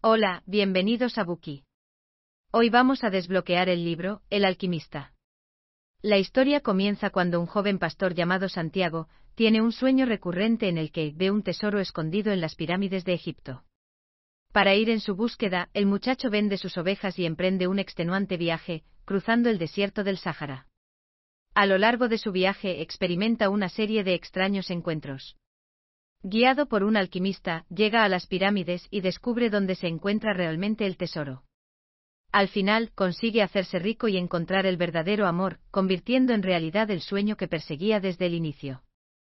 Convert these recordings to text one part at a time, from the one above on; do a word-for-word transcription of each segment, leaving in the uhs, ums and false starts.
Hola, bienvenidos a Buki. Hoy vamos a desbloquear el libro, El alquimista. La historia comienza cuando un joven pastor llamado Santiago tiene un sueño recurrente en el que ve un tesoro escondido en las pirámides de Egipto. Para ir en su búsqueda, el muchacho vende sus ovejas y emprende un extenuante viaje, cruzando el desierto del Sáhara. A lo largo de su viaje experimenta una serie de extraños encuentros. Guiado por un alquimista, llega a las pirámides y descubre dónde se encuentra realmente el tesoro. Al final, consigue hacerse rico y encontrar el verdadero amor, convirtiendo en realidad el sueño que perseguía desde el inicio.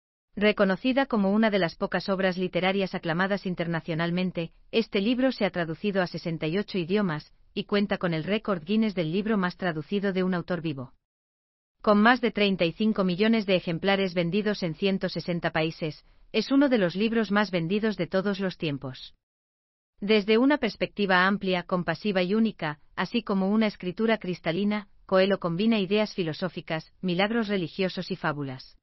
Reconocida como una de las pocas obras literarias aclamadas internacionalmente, este libro se ha traducido a sesenta y ocho idiomas, y cuenta con el récord Guinness del libro más traducido de un autor vivo. Con más de treinta y cinco millones de ejemplares vendidos en ciento sesenta países, es uno de los libros más vendidos de todos los tiempos. Desde una perspectiva amplia, compasiva y única, así como una escritura cristalina, Coelho combina ideas filosóficas, milagros religiosos y fábulas.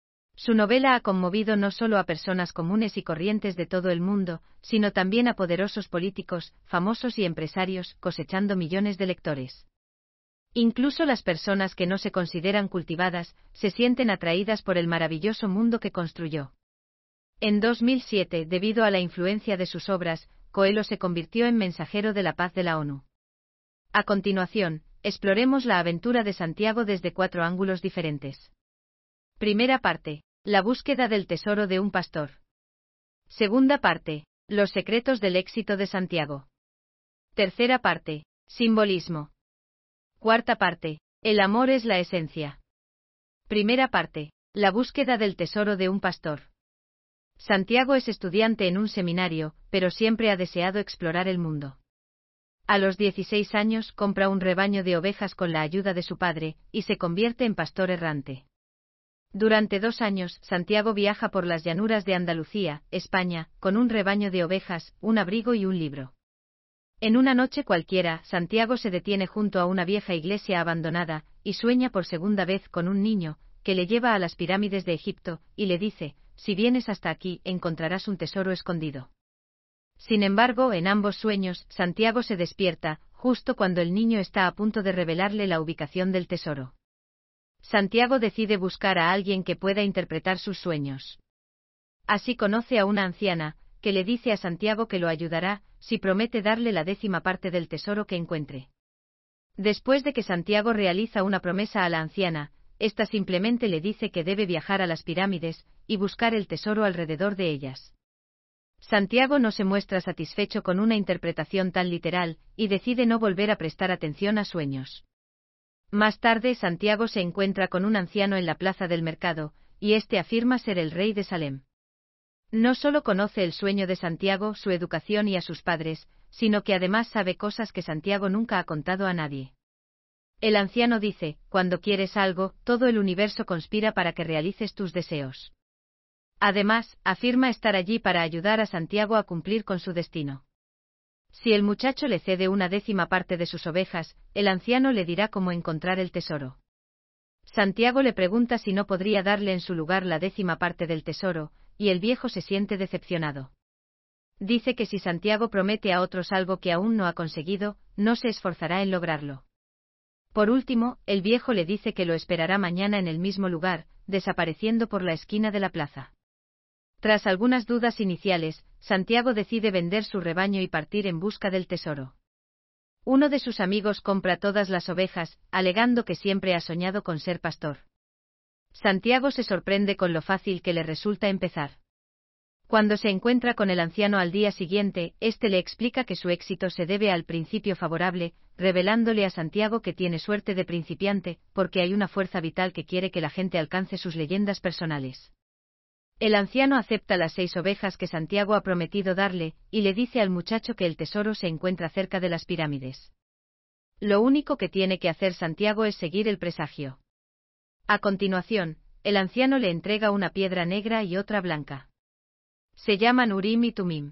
Su novela ha conmovido no solo a personas comunes y corrientes de todo el mundo, sino también a poderosos políticos, famosos y empresarios, cosechando millones de lectores. Incluso las personas que no se consideran cultivadas, se sienten atraídas por el maravilloso mundo que construyó. En dos mil siete, debido a la influencia de sus obras, Coelho se convirtió en mensajero de la paz de la ONU. A continuación, exploremos la aventura de Santiago desde cuatro ángulos diferentes. Primera parte: la búsqueda del tesoro de un pastor. Segunda parte: los secretos del éxito de Santiago. Tercera parte: simbolismo. Cuarta parte: el amor es la esencia. Primera parte: la búsqueda del tesoro de un pastor. Santiago es estudiante en un seminario, pero siempre ha deseado explorar el mundo. A los dieciséis años compra un rebaño de ovejas con la ayuda de su padre, y se convierte en pastor errante. Durante dos años, Santiago viaja por las llanuras de Andalucía, España, con un rebaño de ovejas, un abrigo y un libro. En una noche cualquiera, Santiago se detiene junto a una vieja iglesia abandonada, y sueña por segunda vez con un niño, que le lleva a las pirámides de Egipto, y le dice: si vienes hasta aquí, encontrarás un tesoro escondido. Sin embargo, en ambos sueños, Santiago se despierta, justo cuando el niño está a punto de revelarle la ubicación del tesoro. Santiago decide buscar a alguien que pueda interpretar sus sueños. Así conoce a una anciana, que le dice a Santiago que lo ayudará, si promete darle la décima parte del tesoro que encuentre. Después de que Santiago realiza una promesa a la anciana, ésta simplemente le dice que debe viajar a las pirámides, y buscar el tesoro alrededor de ellas. Santiago no se muestra satisfecho con una interpretación tan literal, y decide no volver a prestar atención a sueños. Más tarde, Santiago se encuentra con un anciano en la plaza del mercado, y este afirma ser el rey de Salem. No solo conoce el sueño de Santiago, su educación y a sus padres, sino que además sabe cosas que Santiago nunca ha contado a nadie. El anciano dice: cuando quieres algo, todo el universo conspira para que realices tus deseos. Además, afirma estar allí para ayudar a Santiago a cumplir con su destino. Si el muchacho le cede una décima parte de sus ovejas, el anciano le dirá cómo encontrar el tesoro. Santiago le pregunta si no podría darle en su lugar la décima parte del tesoro, y el viejo se siente decepcionado. Dice que si Santiago promete a otros algo que aún no ha conseguido, no se esforzará en lograrlo. Por último, el viejo le dice que lo esperará mañana en el mismo lugar, desapareciendo por la esquina de la plaza. Tras algunas dudas iniciales, Santiago decide vender su rebaño y partir en busca del tesoro. Uno de sus amigos compra todas las ovejas, alegando que siempre ha soñado con ser pastor. Santiago se sorprende con lo fácil que le resulta empezar. Cuando se encuentra con el anciano al día siguiente, éste le explica que su éxito se debe al principio favorable, revelándole a Santiago que tiene suerte de principiante, porque hay una fuerza vital que quiere que la gente alcance sus leyendas personales. El anciano acepta las seis ovejas que Santiago ha prometido darle, y le dice al muchacho que el tesoro se encuentra cerca de las pirámides. Lo único que tiene que hacer Santiago es seguir el presagio. A continuación, el anciano le entrega una piedra negra y otra blanca. Se llaman Urim y Tumim.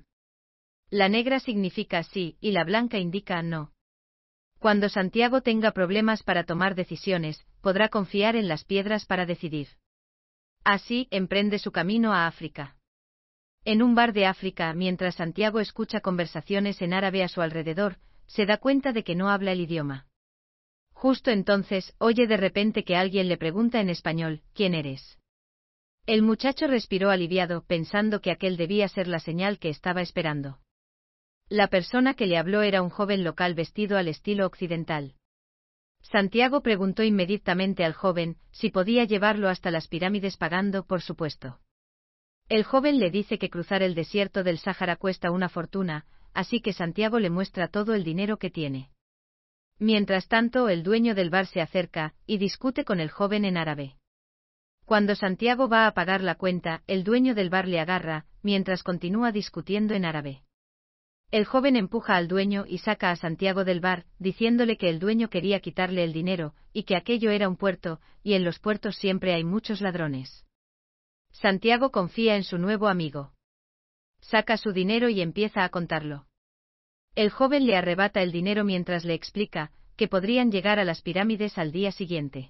La negra significa sí, y la blanca indica no. Cuando Santiago tenga problemas para tomar decisiones, podrá confiar en las piedras para decidir. Así, emprende su camino a África. En un bar de África, mientras Santiago escucha conversaciones en árabe a su alrededor, se da cuenta de que no habla el idioma. Justo entonces, oye de repente que alguien le pregunta en español, ¿quién eres? El muchacho respiró aliviado, pensando que aquel debía ser la señal que estaba esperando. La persona que le habló era un joven local vestido al estilo occidental. Santiago preguntó inmediatamente al joven si podía llevarlo hasta las pirámides pagando, por supuesto. El joven le dice que cruzar el desierto del Sáhara cuesta una fortuna, así que Santiago le muestra todo el dinero que tiene. Mientras tanto, el dueño del bar se acerca y discute con el joven en árabe. Cuando Santiago va a pagar la cuenta, el dueño del bar le agarra, mientras continúa discutiendo en árabe. El joven empuja al dueño y saca a Santiago del bar, diciéndole que el dueño quería quitarle el dinero, y que aquello era un puerto, y en los puertos siempre hay muchos ladrones. Santiago confía en su nuevo amigo. Saca su dinero y empieza a contarlo. El joven le arrebata el dinero mientras le explica que podrían llegar a las pirámides al día siguiente.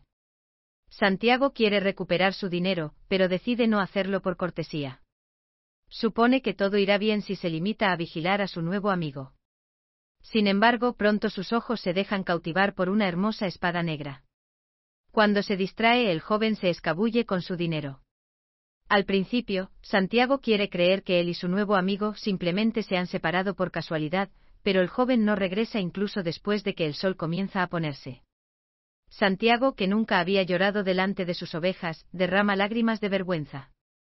Santiago quiere recuperar su dinero, pero decide no hacerlo por cortesía. Supone que todo irá bien si se limita a vigilar a su nuevo amigo. Sin embargo, pronto sus ojos se dejan cautivar por una hermosa espada negra. Cuando se distrae, el joven se escabulle con su dinero. Al principio, Santiago quiere creer que él y su nuevo amigo simplemente se han separado por casualidad, pero el joven no regresa incluso después de que el sol comienza a ponerse. Santiago, que nunca había llorado delante de sus ovejas, derrama lágrimas de vergüenza.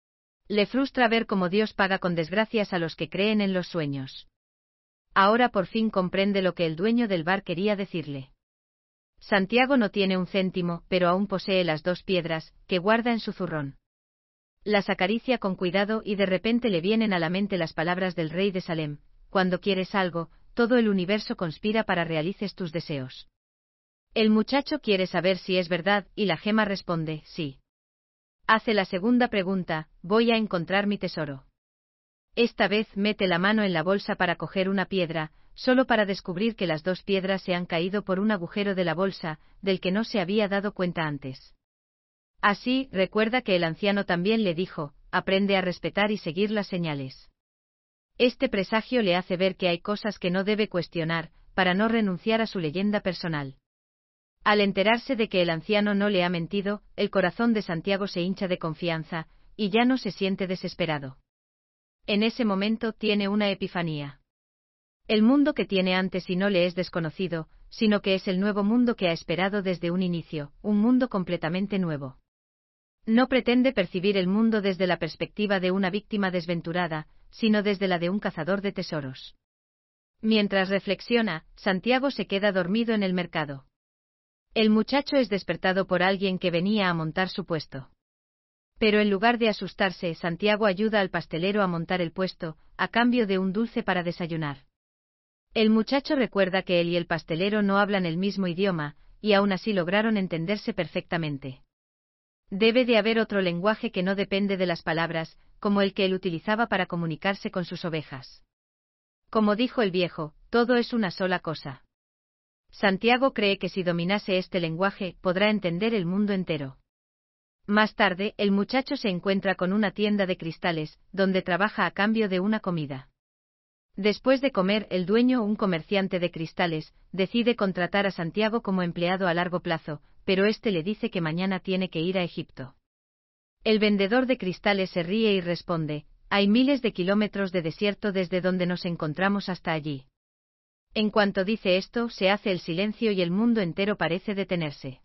Le frustra ver cómo Dios paga con desgracias a los que creen en los sueños. Ahora por fin comprende lo que el dueño del bar quería decirle. Santiago no tiene un céntimo, pero aún posee las dos piedras que guarda en su zurrón. Las acaricia con cuidado y de repente le vienen a la mente las palabras del rey de Salem: cuando quieres algo, todo el universo conspira para realices tus deseos. El muchacho quiere saber si es verdad, y la gema responde, sí. Hace la segunda pregunta, voy a encontrar mi tesoro. Esta vez mete la mano en la bolsa para coger una piedra, solo para descubrir que las dos piedras se han caído por un agujero de la bolsa, del que no se había dado cuenta antes. Así, recuerda que el anciano también le dijo, aprende a respetar y seguir las señales. Este presagio le hace ver que hay cosas que no debe cuestionar, para no renunciar a su leyenda personal. Al enterarse de que el anciano no le ha mentido, el corazón de Santiago se hincha de confianza, y ya no se siente desesperado. En ese momento tiene una epifanía. El mundo que tiene antes y no le es desconocido, sino que es el nuevo mundo que ha esperado desde un inicio, un mundo completamente nuevo. No pretende percibir el mundo desde la perspectiva de una víctima desventurada, sino desde la de un cazador de tesoros. Mientras reflexiona, Santiago se queda dormido en el mercado. El muchacho es despertado por alguien que venía a montar su puesto. Pero en lugar de asustarse, Santiago ayuda al pastelero a montar el puesto, a cambio de un dulce para desayunar. El muchacho recuerda que él y el pastelero no hablan el mismo idioma, y aún así lograron entenderse perfectamente. Debe de haber otro lenguaje que no depende de las palabras, como el que él utilizaba para comunicarse con sus ovejas. Como dijo el viejo, todo es una sola cosa. Santiago cree que si dominase este lenguaje, podrá entender el mundo entero. Más tarde, el muchacho se encuentra con una tienda de cristales, donde trabaja a cambio de una comida. Después de comer, el dueño, un comerciante de cristales, decide contratar a Santiago como empleado a largo plazo, pero este le dice que mañana tiene que ir a Egipto. El vendedor de cristales se ríe y responde, hay miles de kilómetros de desierto desde donde nos encontramos hasta allí. En cuanto dice esto, se hace el silencio y el mundo entero parece detenerse.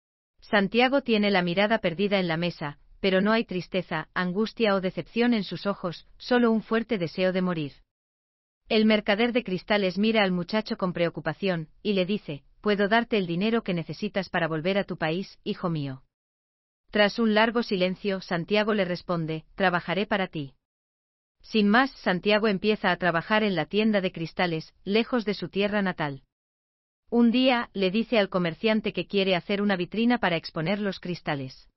Santiago tiene la mirada perdida en la mesa, pero no hay tristeza, angustia o decepción en sus ojos, solo un fuerte deseo de morir. El mercader de cristales mira al muchacho con preocupación, y le dice, puedo darte el dinero que necesitas para volver a tu país, hijo mío. Tras un largo silencio, Santiago le responde, trabajaré para ti. Sin más, Santiago empieza a trabajar en la tienda de cristales, lejos de su tierra natal. Un día, le dice al comerciante que quiere hacer una vitrina para exponer los cristales.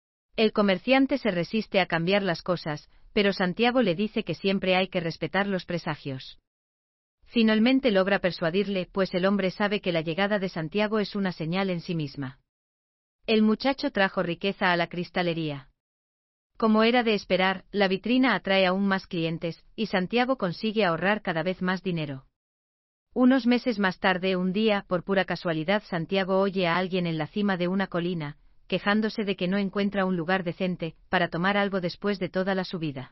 El comerciante se resiste a cambiar las cosas, pero Santiago le dice que siempre hay que respetar los presagios. Finalmente logra persuadirle, pues el hombre sabe que la llegada de Santiago es una señal en sí misma. El muchacho trajo riqueza a la cristalería. Como era de esperar, la vitrina atrae aún más clientes, y Santiago consigue ahorrar cada vez más dinero. Unos meses más tarde, un día, por pura casualidad, Santiago oye a alguien en la cima de una colina, quejándose de que no encuentra un lugar decente para tomar algo después de toda la subida.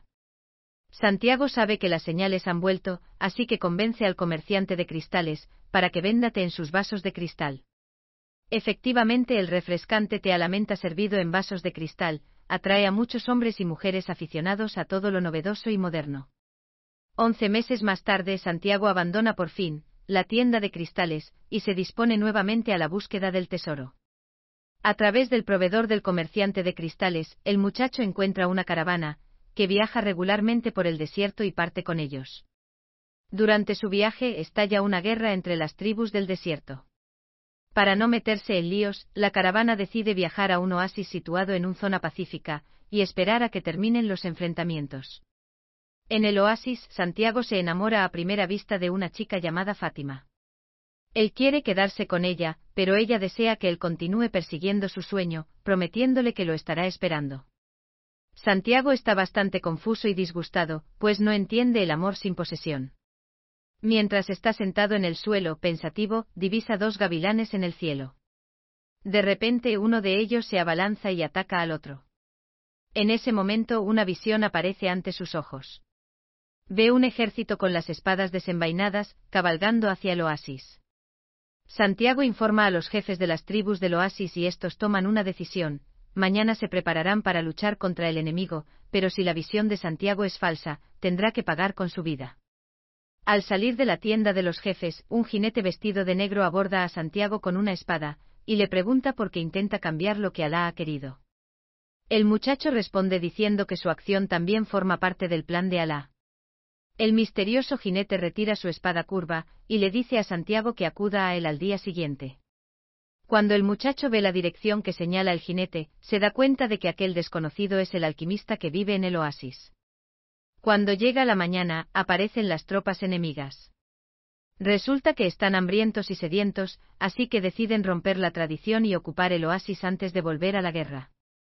Santiago sabe que las señales han vuelto, así que convence al comerciante de cristales para que venda té en sus vasos de cristal. Efectivamente, el refrescante té a la menta servido en vasos de cristal atrae a muchos hombres y mujeres aficionados a todo lo novedoso y moderno. Once meses más tarde, Santiago abandona por fin la tienda de cristales y se dispone nuevamente a la búsqueda del tesoro. A través del proveedor del comerciante de cristales, el muchacho encuentra una caravana que viaja regularmente por el desierto y parte con ellos. Durante su viaje estalla una guerra entre las tribus del desierto. Para no meterse en líos, la caravana decide viajar a un oasis situado en una zona pacífica y esperar a que terminen los enfrentamientos. En el oasis, Santiago se enamora a primera vista de una chica llamada Fátima. Él quiere quedarse con ella, pero ella desea que él continúe persiguiendo su sueño, prometiéndole que lo estará esperando. Santiago está bastante confuso y disgustado, pues no entiende el amor sin posesión. Mientras está sentado en el suelo, pensativo, divisa dos gavilanes en el cielo. De repente uno de ellos se abalanza y ataca al otro. En ese momento una visión aparece ante sus ojos. Ve un ejército con las espadas desenvainadas, cabalgando hacia el oasis. Santiago informa a los jefes de las tribus del oasis y estos toman una decisión: mañana se prepararán para luchar contra el enemigo, pero si la visión de Santiago es falsa, tendrá que pagar con su vida. Al salir de la tienda de los jefes, un jinete vestido de negro aborda a Santiago con una espada, y le pregunta por qué intenta cambiar lo que Alá ha querido. El muchacho responde diciendo que su acción también forma parte del plan de Alá. El misterioso jinete retira su espada curva, y le dice a Santiago que acuda a él al día siguiente. Cuando el muchacho ve la dirección que señala el jinete, se da cuenta de que aquel desconocido es el alquimista que vive en el oasis. Cuando llega la mañana, aparecen las tropas enemigas. Resulta que están hambrientos y sedientos, así que deciden romper la tradición y ocupar el oasis antes de volver a la guerra.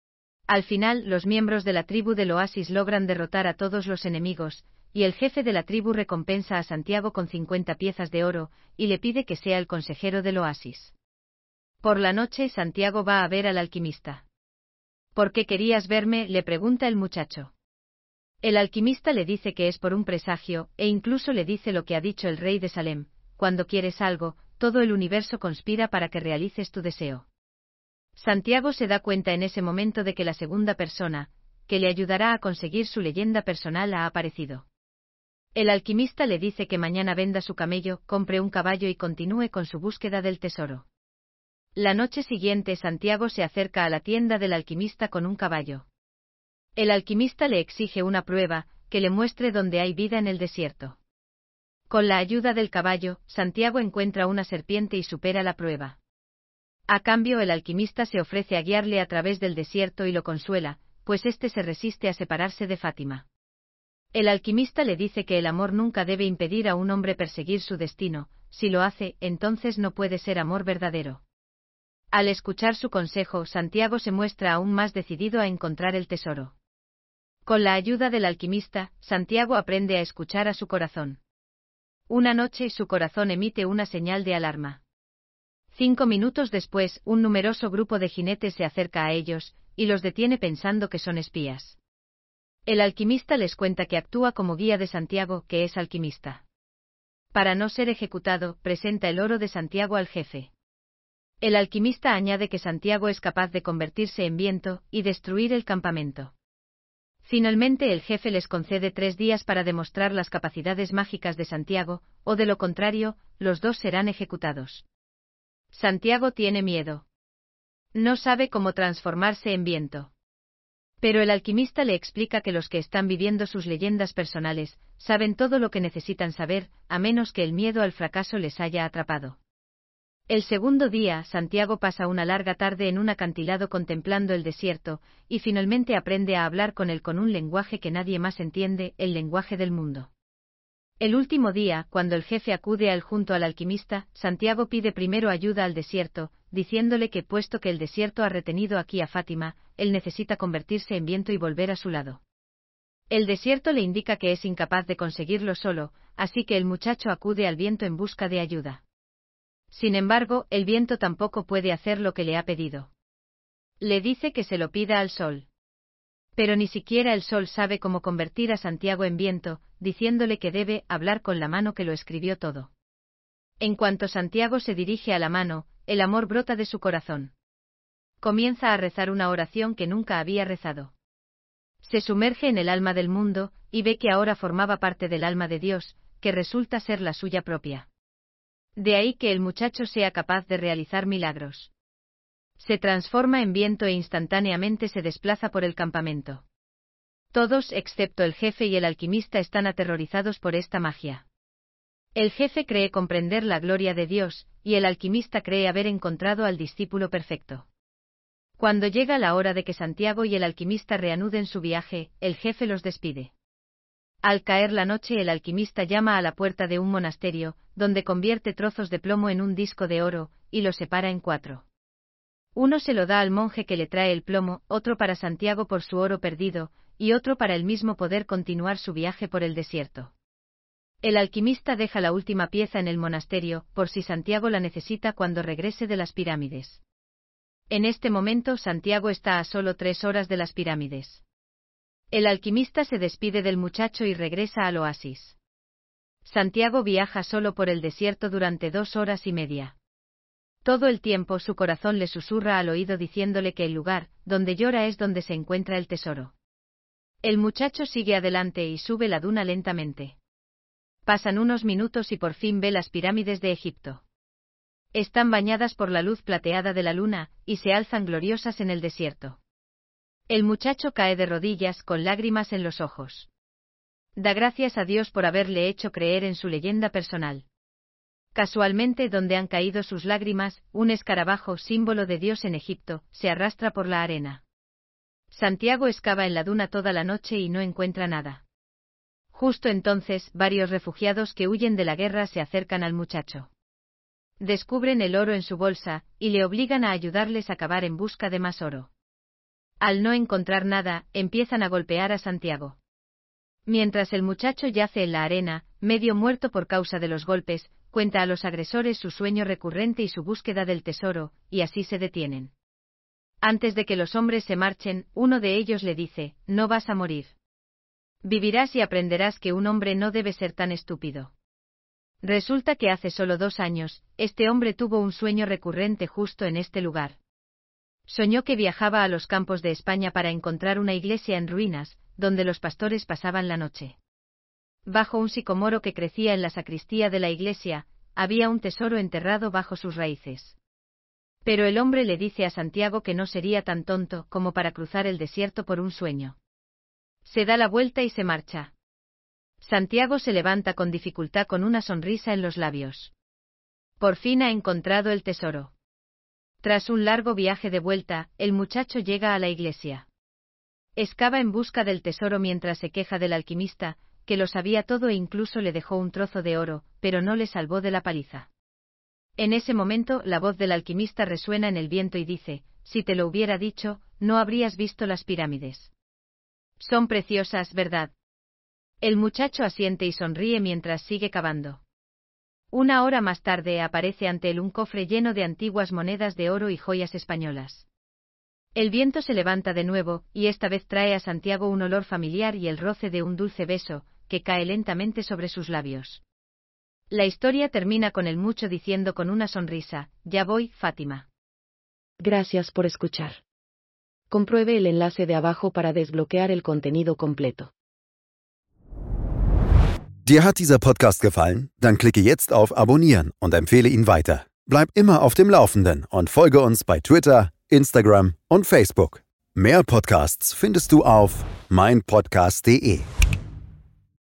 Al final, los miembros de la tribu del oasis logran derrotar a todos los enemigos, y el jefe de la tribu recompensa a Santiago con cincuenta piezas de oro, y le pide que sea el consejero del oasis. Por la noche, Santiago va a ver al alquimista. ¿Por qué querías verme?, le pregunta el muchacho. El alquimista le dice que es por un presagio, e incluso le dice lo que ha dicho el rey de Salem: cuando quieres algo, todo el universo conspira para que realices tu deseo. Santiago se da cuenta en ese momento de que la segunda persona, que le ayudará a conseguir su leyenda personal, ha aparecido. El alquimista le dice que mañana venda su camello, compre un caballo y continúe con su búsqueda del tesoro. La noche siguiente, Santiago se acerca a la tienda del alquimista con un caballo. El alquimista le exige una prueba, que le muestre dónde hay vida en el desierto. Con la ayuda del caballo, Santiago encuentra una serpiente y supera la prueba. A cambio, el alquimista se ofrece a guiarle a través del desierto y lo consuela, pues éste se resiste a separarse de Fátima. El alquimista le dice que el amor nunca debe impedir a un hombre perseguir su destino, si lo hace, entonces no puede ser amor verdadero. Al escuchar su consejo, Santiago se muestra aún más decidido a encontrar el tesoro. Con la ayuda del alquimista, Santiago aprende a escuchar a su corazón. Una noche, su corazón emite una señal de alarma. Cinco minutos después, un numeroso grupo de jinetes se acerca a ellos, y los detiene pensando que son espías. El alquimista les cuenta que actúa como guía de Santiago, que es alquimista. Para no ser ejecutado, presenta el oro de Santiago al jefe. El alquimista añade que Santiago es capaz de convertirse en viento y destruir el campamento. Finalmente, el jefe les concede tres días para demostrar las capacidades mágicas de Santiago, o de lo contrario, los dos serán ejecutados. Santiago tiene miedo. No sabe cómo transformarse en viento. Pero el alquimista le explica que los que están viviendo sus leyendas personales saben todo lo que necesitan saber, a menos que el miedo al fracaso les haya atrapado. El segundo día, Santiago pasa una larga tarde en un acantilado contemplando el desierto, y finalmente aprende a hablar con él con un lenguaje que nadie más entiende, el lenguaje del mundo. El último día, cuando el jefe acude al junto al alquimista, Santiago pide primero ayuda al desierto, diciéndole que puesto que el desierto ha retenido aquí a Fátima, él necesita convertirse en viento y volver a su lado. El desierto le indica que es incapaz de conseguirlo solo, así que el muchacho acude al viento en busca de ayuda. Sin embargo, el viento tampoco puede hacer lo que le ha pedido. Le dice que se lo pida al sol. Pero ni siquiera el sol sabe cómo convertir a Santiago en viento, diciéndole que debe hablar con la mano que lo escribió todo. En cuanto Santiago se dirige a la mano, el amor brota de su corazón. Comienza a rezar una oración que nunca había rezado. Se sumerge en el alma del mundo, y ve que ahora formaba parte del alma de Dios, que resulta ser la suya propia. De ahí que el muchacho sea capaz de realizar milagros. Se transforma en viento e instantáneamente se desplaza por el campamento. Todos, excepto el jefe y el alquimista, están aterrorizados por esta magia. El jefe cree comprender la gloria de Dios, y el alquimista cree haber encontrado al discípulo perfecto. Cuando llega la hora de que Santiago y el alquimista reanuden su viaje, el jefe los despide. Al caer la noche, el alquimista llama a la puerta de un monasterio, donde convierte trozos de plomo en un disco de oro, y lo separa en cuatro. Uno se lo da al monje que le trae el plomo, otro para Santiago por su oro perdido, y otro para él mismo poder continuar su viaje por el desierto. El alquimista deja la última pieza en el monasterio, por si Santiago la necesita cuando regrese de las pirámides. En este momento Santiago está a solo tres horas de las pirámides. El alquimista se despide del muchacho y regresa al oasis. Santiago viaja solo por el desierto durante dos horas y media. Todo el tiempo su corazón le susurra al oído diciéndole que el lugar donde llora es donde se encuentra el tesoro. El muchacho sigue adelante y sube la duna lentamente. Pasan unos minutos y por fin ve las pirámides de Egipto. Están bañadas por la luz plateada de la luna, y se alzan gloriosas en el desierto. El muchacho cae de rodillas con lágrimas en los ojos. Da gracias a Dios por haberle hecho creer en su leyenda personal. Casualmente, donde han caído sus lágrimas, un escarabajo, símbolo de Dios en Egipto, se arrastra por la arena. Santiago excava en la duna toda la noche y no encuentra nada. Justo entonces, varios refugiados que huyen de la guerra se acercan al muchacho. Descubren el oro en su bolsa, y le obligan a ayudarles a cavar en busca de más oro. Al no encontrar nada, empiezan a golpear a Santiago. Mientras el muchacho yace en la arena, medio muerto por causa de los golpes, cuenta a los agresores su sueño recurrente y su búsqueda del tesoro, y así se detienen. Antes de que los hombres se marchen, uno de ellos le dice: «No vas a morir. Vivirás y aprenderás que un hombre no debe ser tan estúpido». Resulta que hace solo dos años, este hombre tuvo un sueño recurrente justo en este lugar. Soñó que viajaba a los campos de España para encontrar una iglesia en ruinas, donde los pastores pasaban la noche. Bajo un sicomoro que crecía en la sacristía de la iglesia, había un tesoro enterrado bajo sus raíces. Pero el hombre le dice a Santiago que no sería tan tonto como para cruzar el desierto por un sueño. Se da la vuelta y se marcha. Santiago se levanta con dificultad con una sonrisa en los labios. Por fin ha encontrado el tesoro. Tras un largo viaje de vuelta, el muchacho llega a la iglesia. Excava en busca del tesoro mientras se queja del alquimista, que lo sabía todo e incluso le dejó un trozo de oro, pero no le salvó de la paliza. En ese momento, la voz del alquimista resuena en el viento y dice: «Si te lo hubiera dicho, no habrías visto las pirámides. Son preciosas, ¿verdad?». El muchacho asiente y sonríe mientras sigue cavando. Una hora más tarde aparece ante él un cofre lleno de antiguas monedas de oro y joyas españolas. El viento se levanta de nuevo, y esta vez trae a Santiago un olor familiar y el roce de un dulce beso, que cae lentamente sobre sus labios. La historia termina con el mucho diciendo con una sonrisa: «Ya voy, Fátima». Gracias por escuchar. Compruebe el enlace de abajo para desbloquear el contenido completo. Dir hat dieser Podcast gefallen? Dann klicke jetzt auf Abonnieren und empfehle ihn weiter. Bleib immer auf dem Laufenden und folge uns bei Twitter, Instagram und Facebook. Mehr Podcasts findest du auf mein podcast punkt de.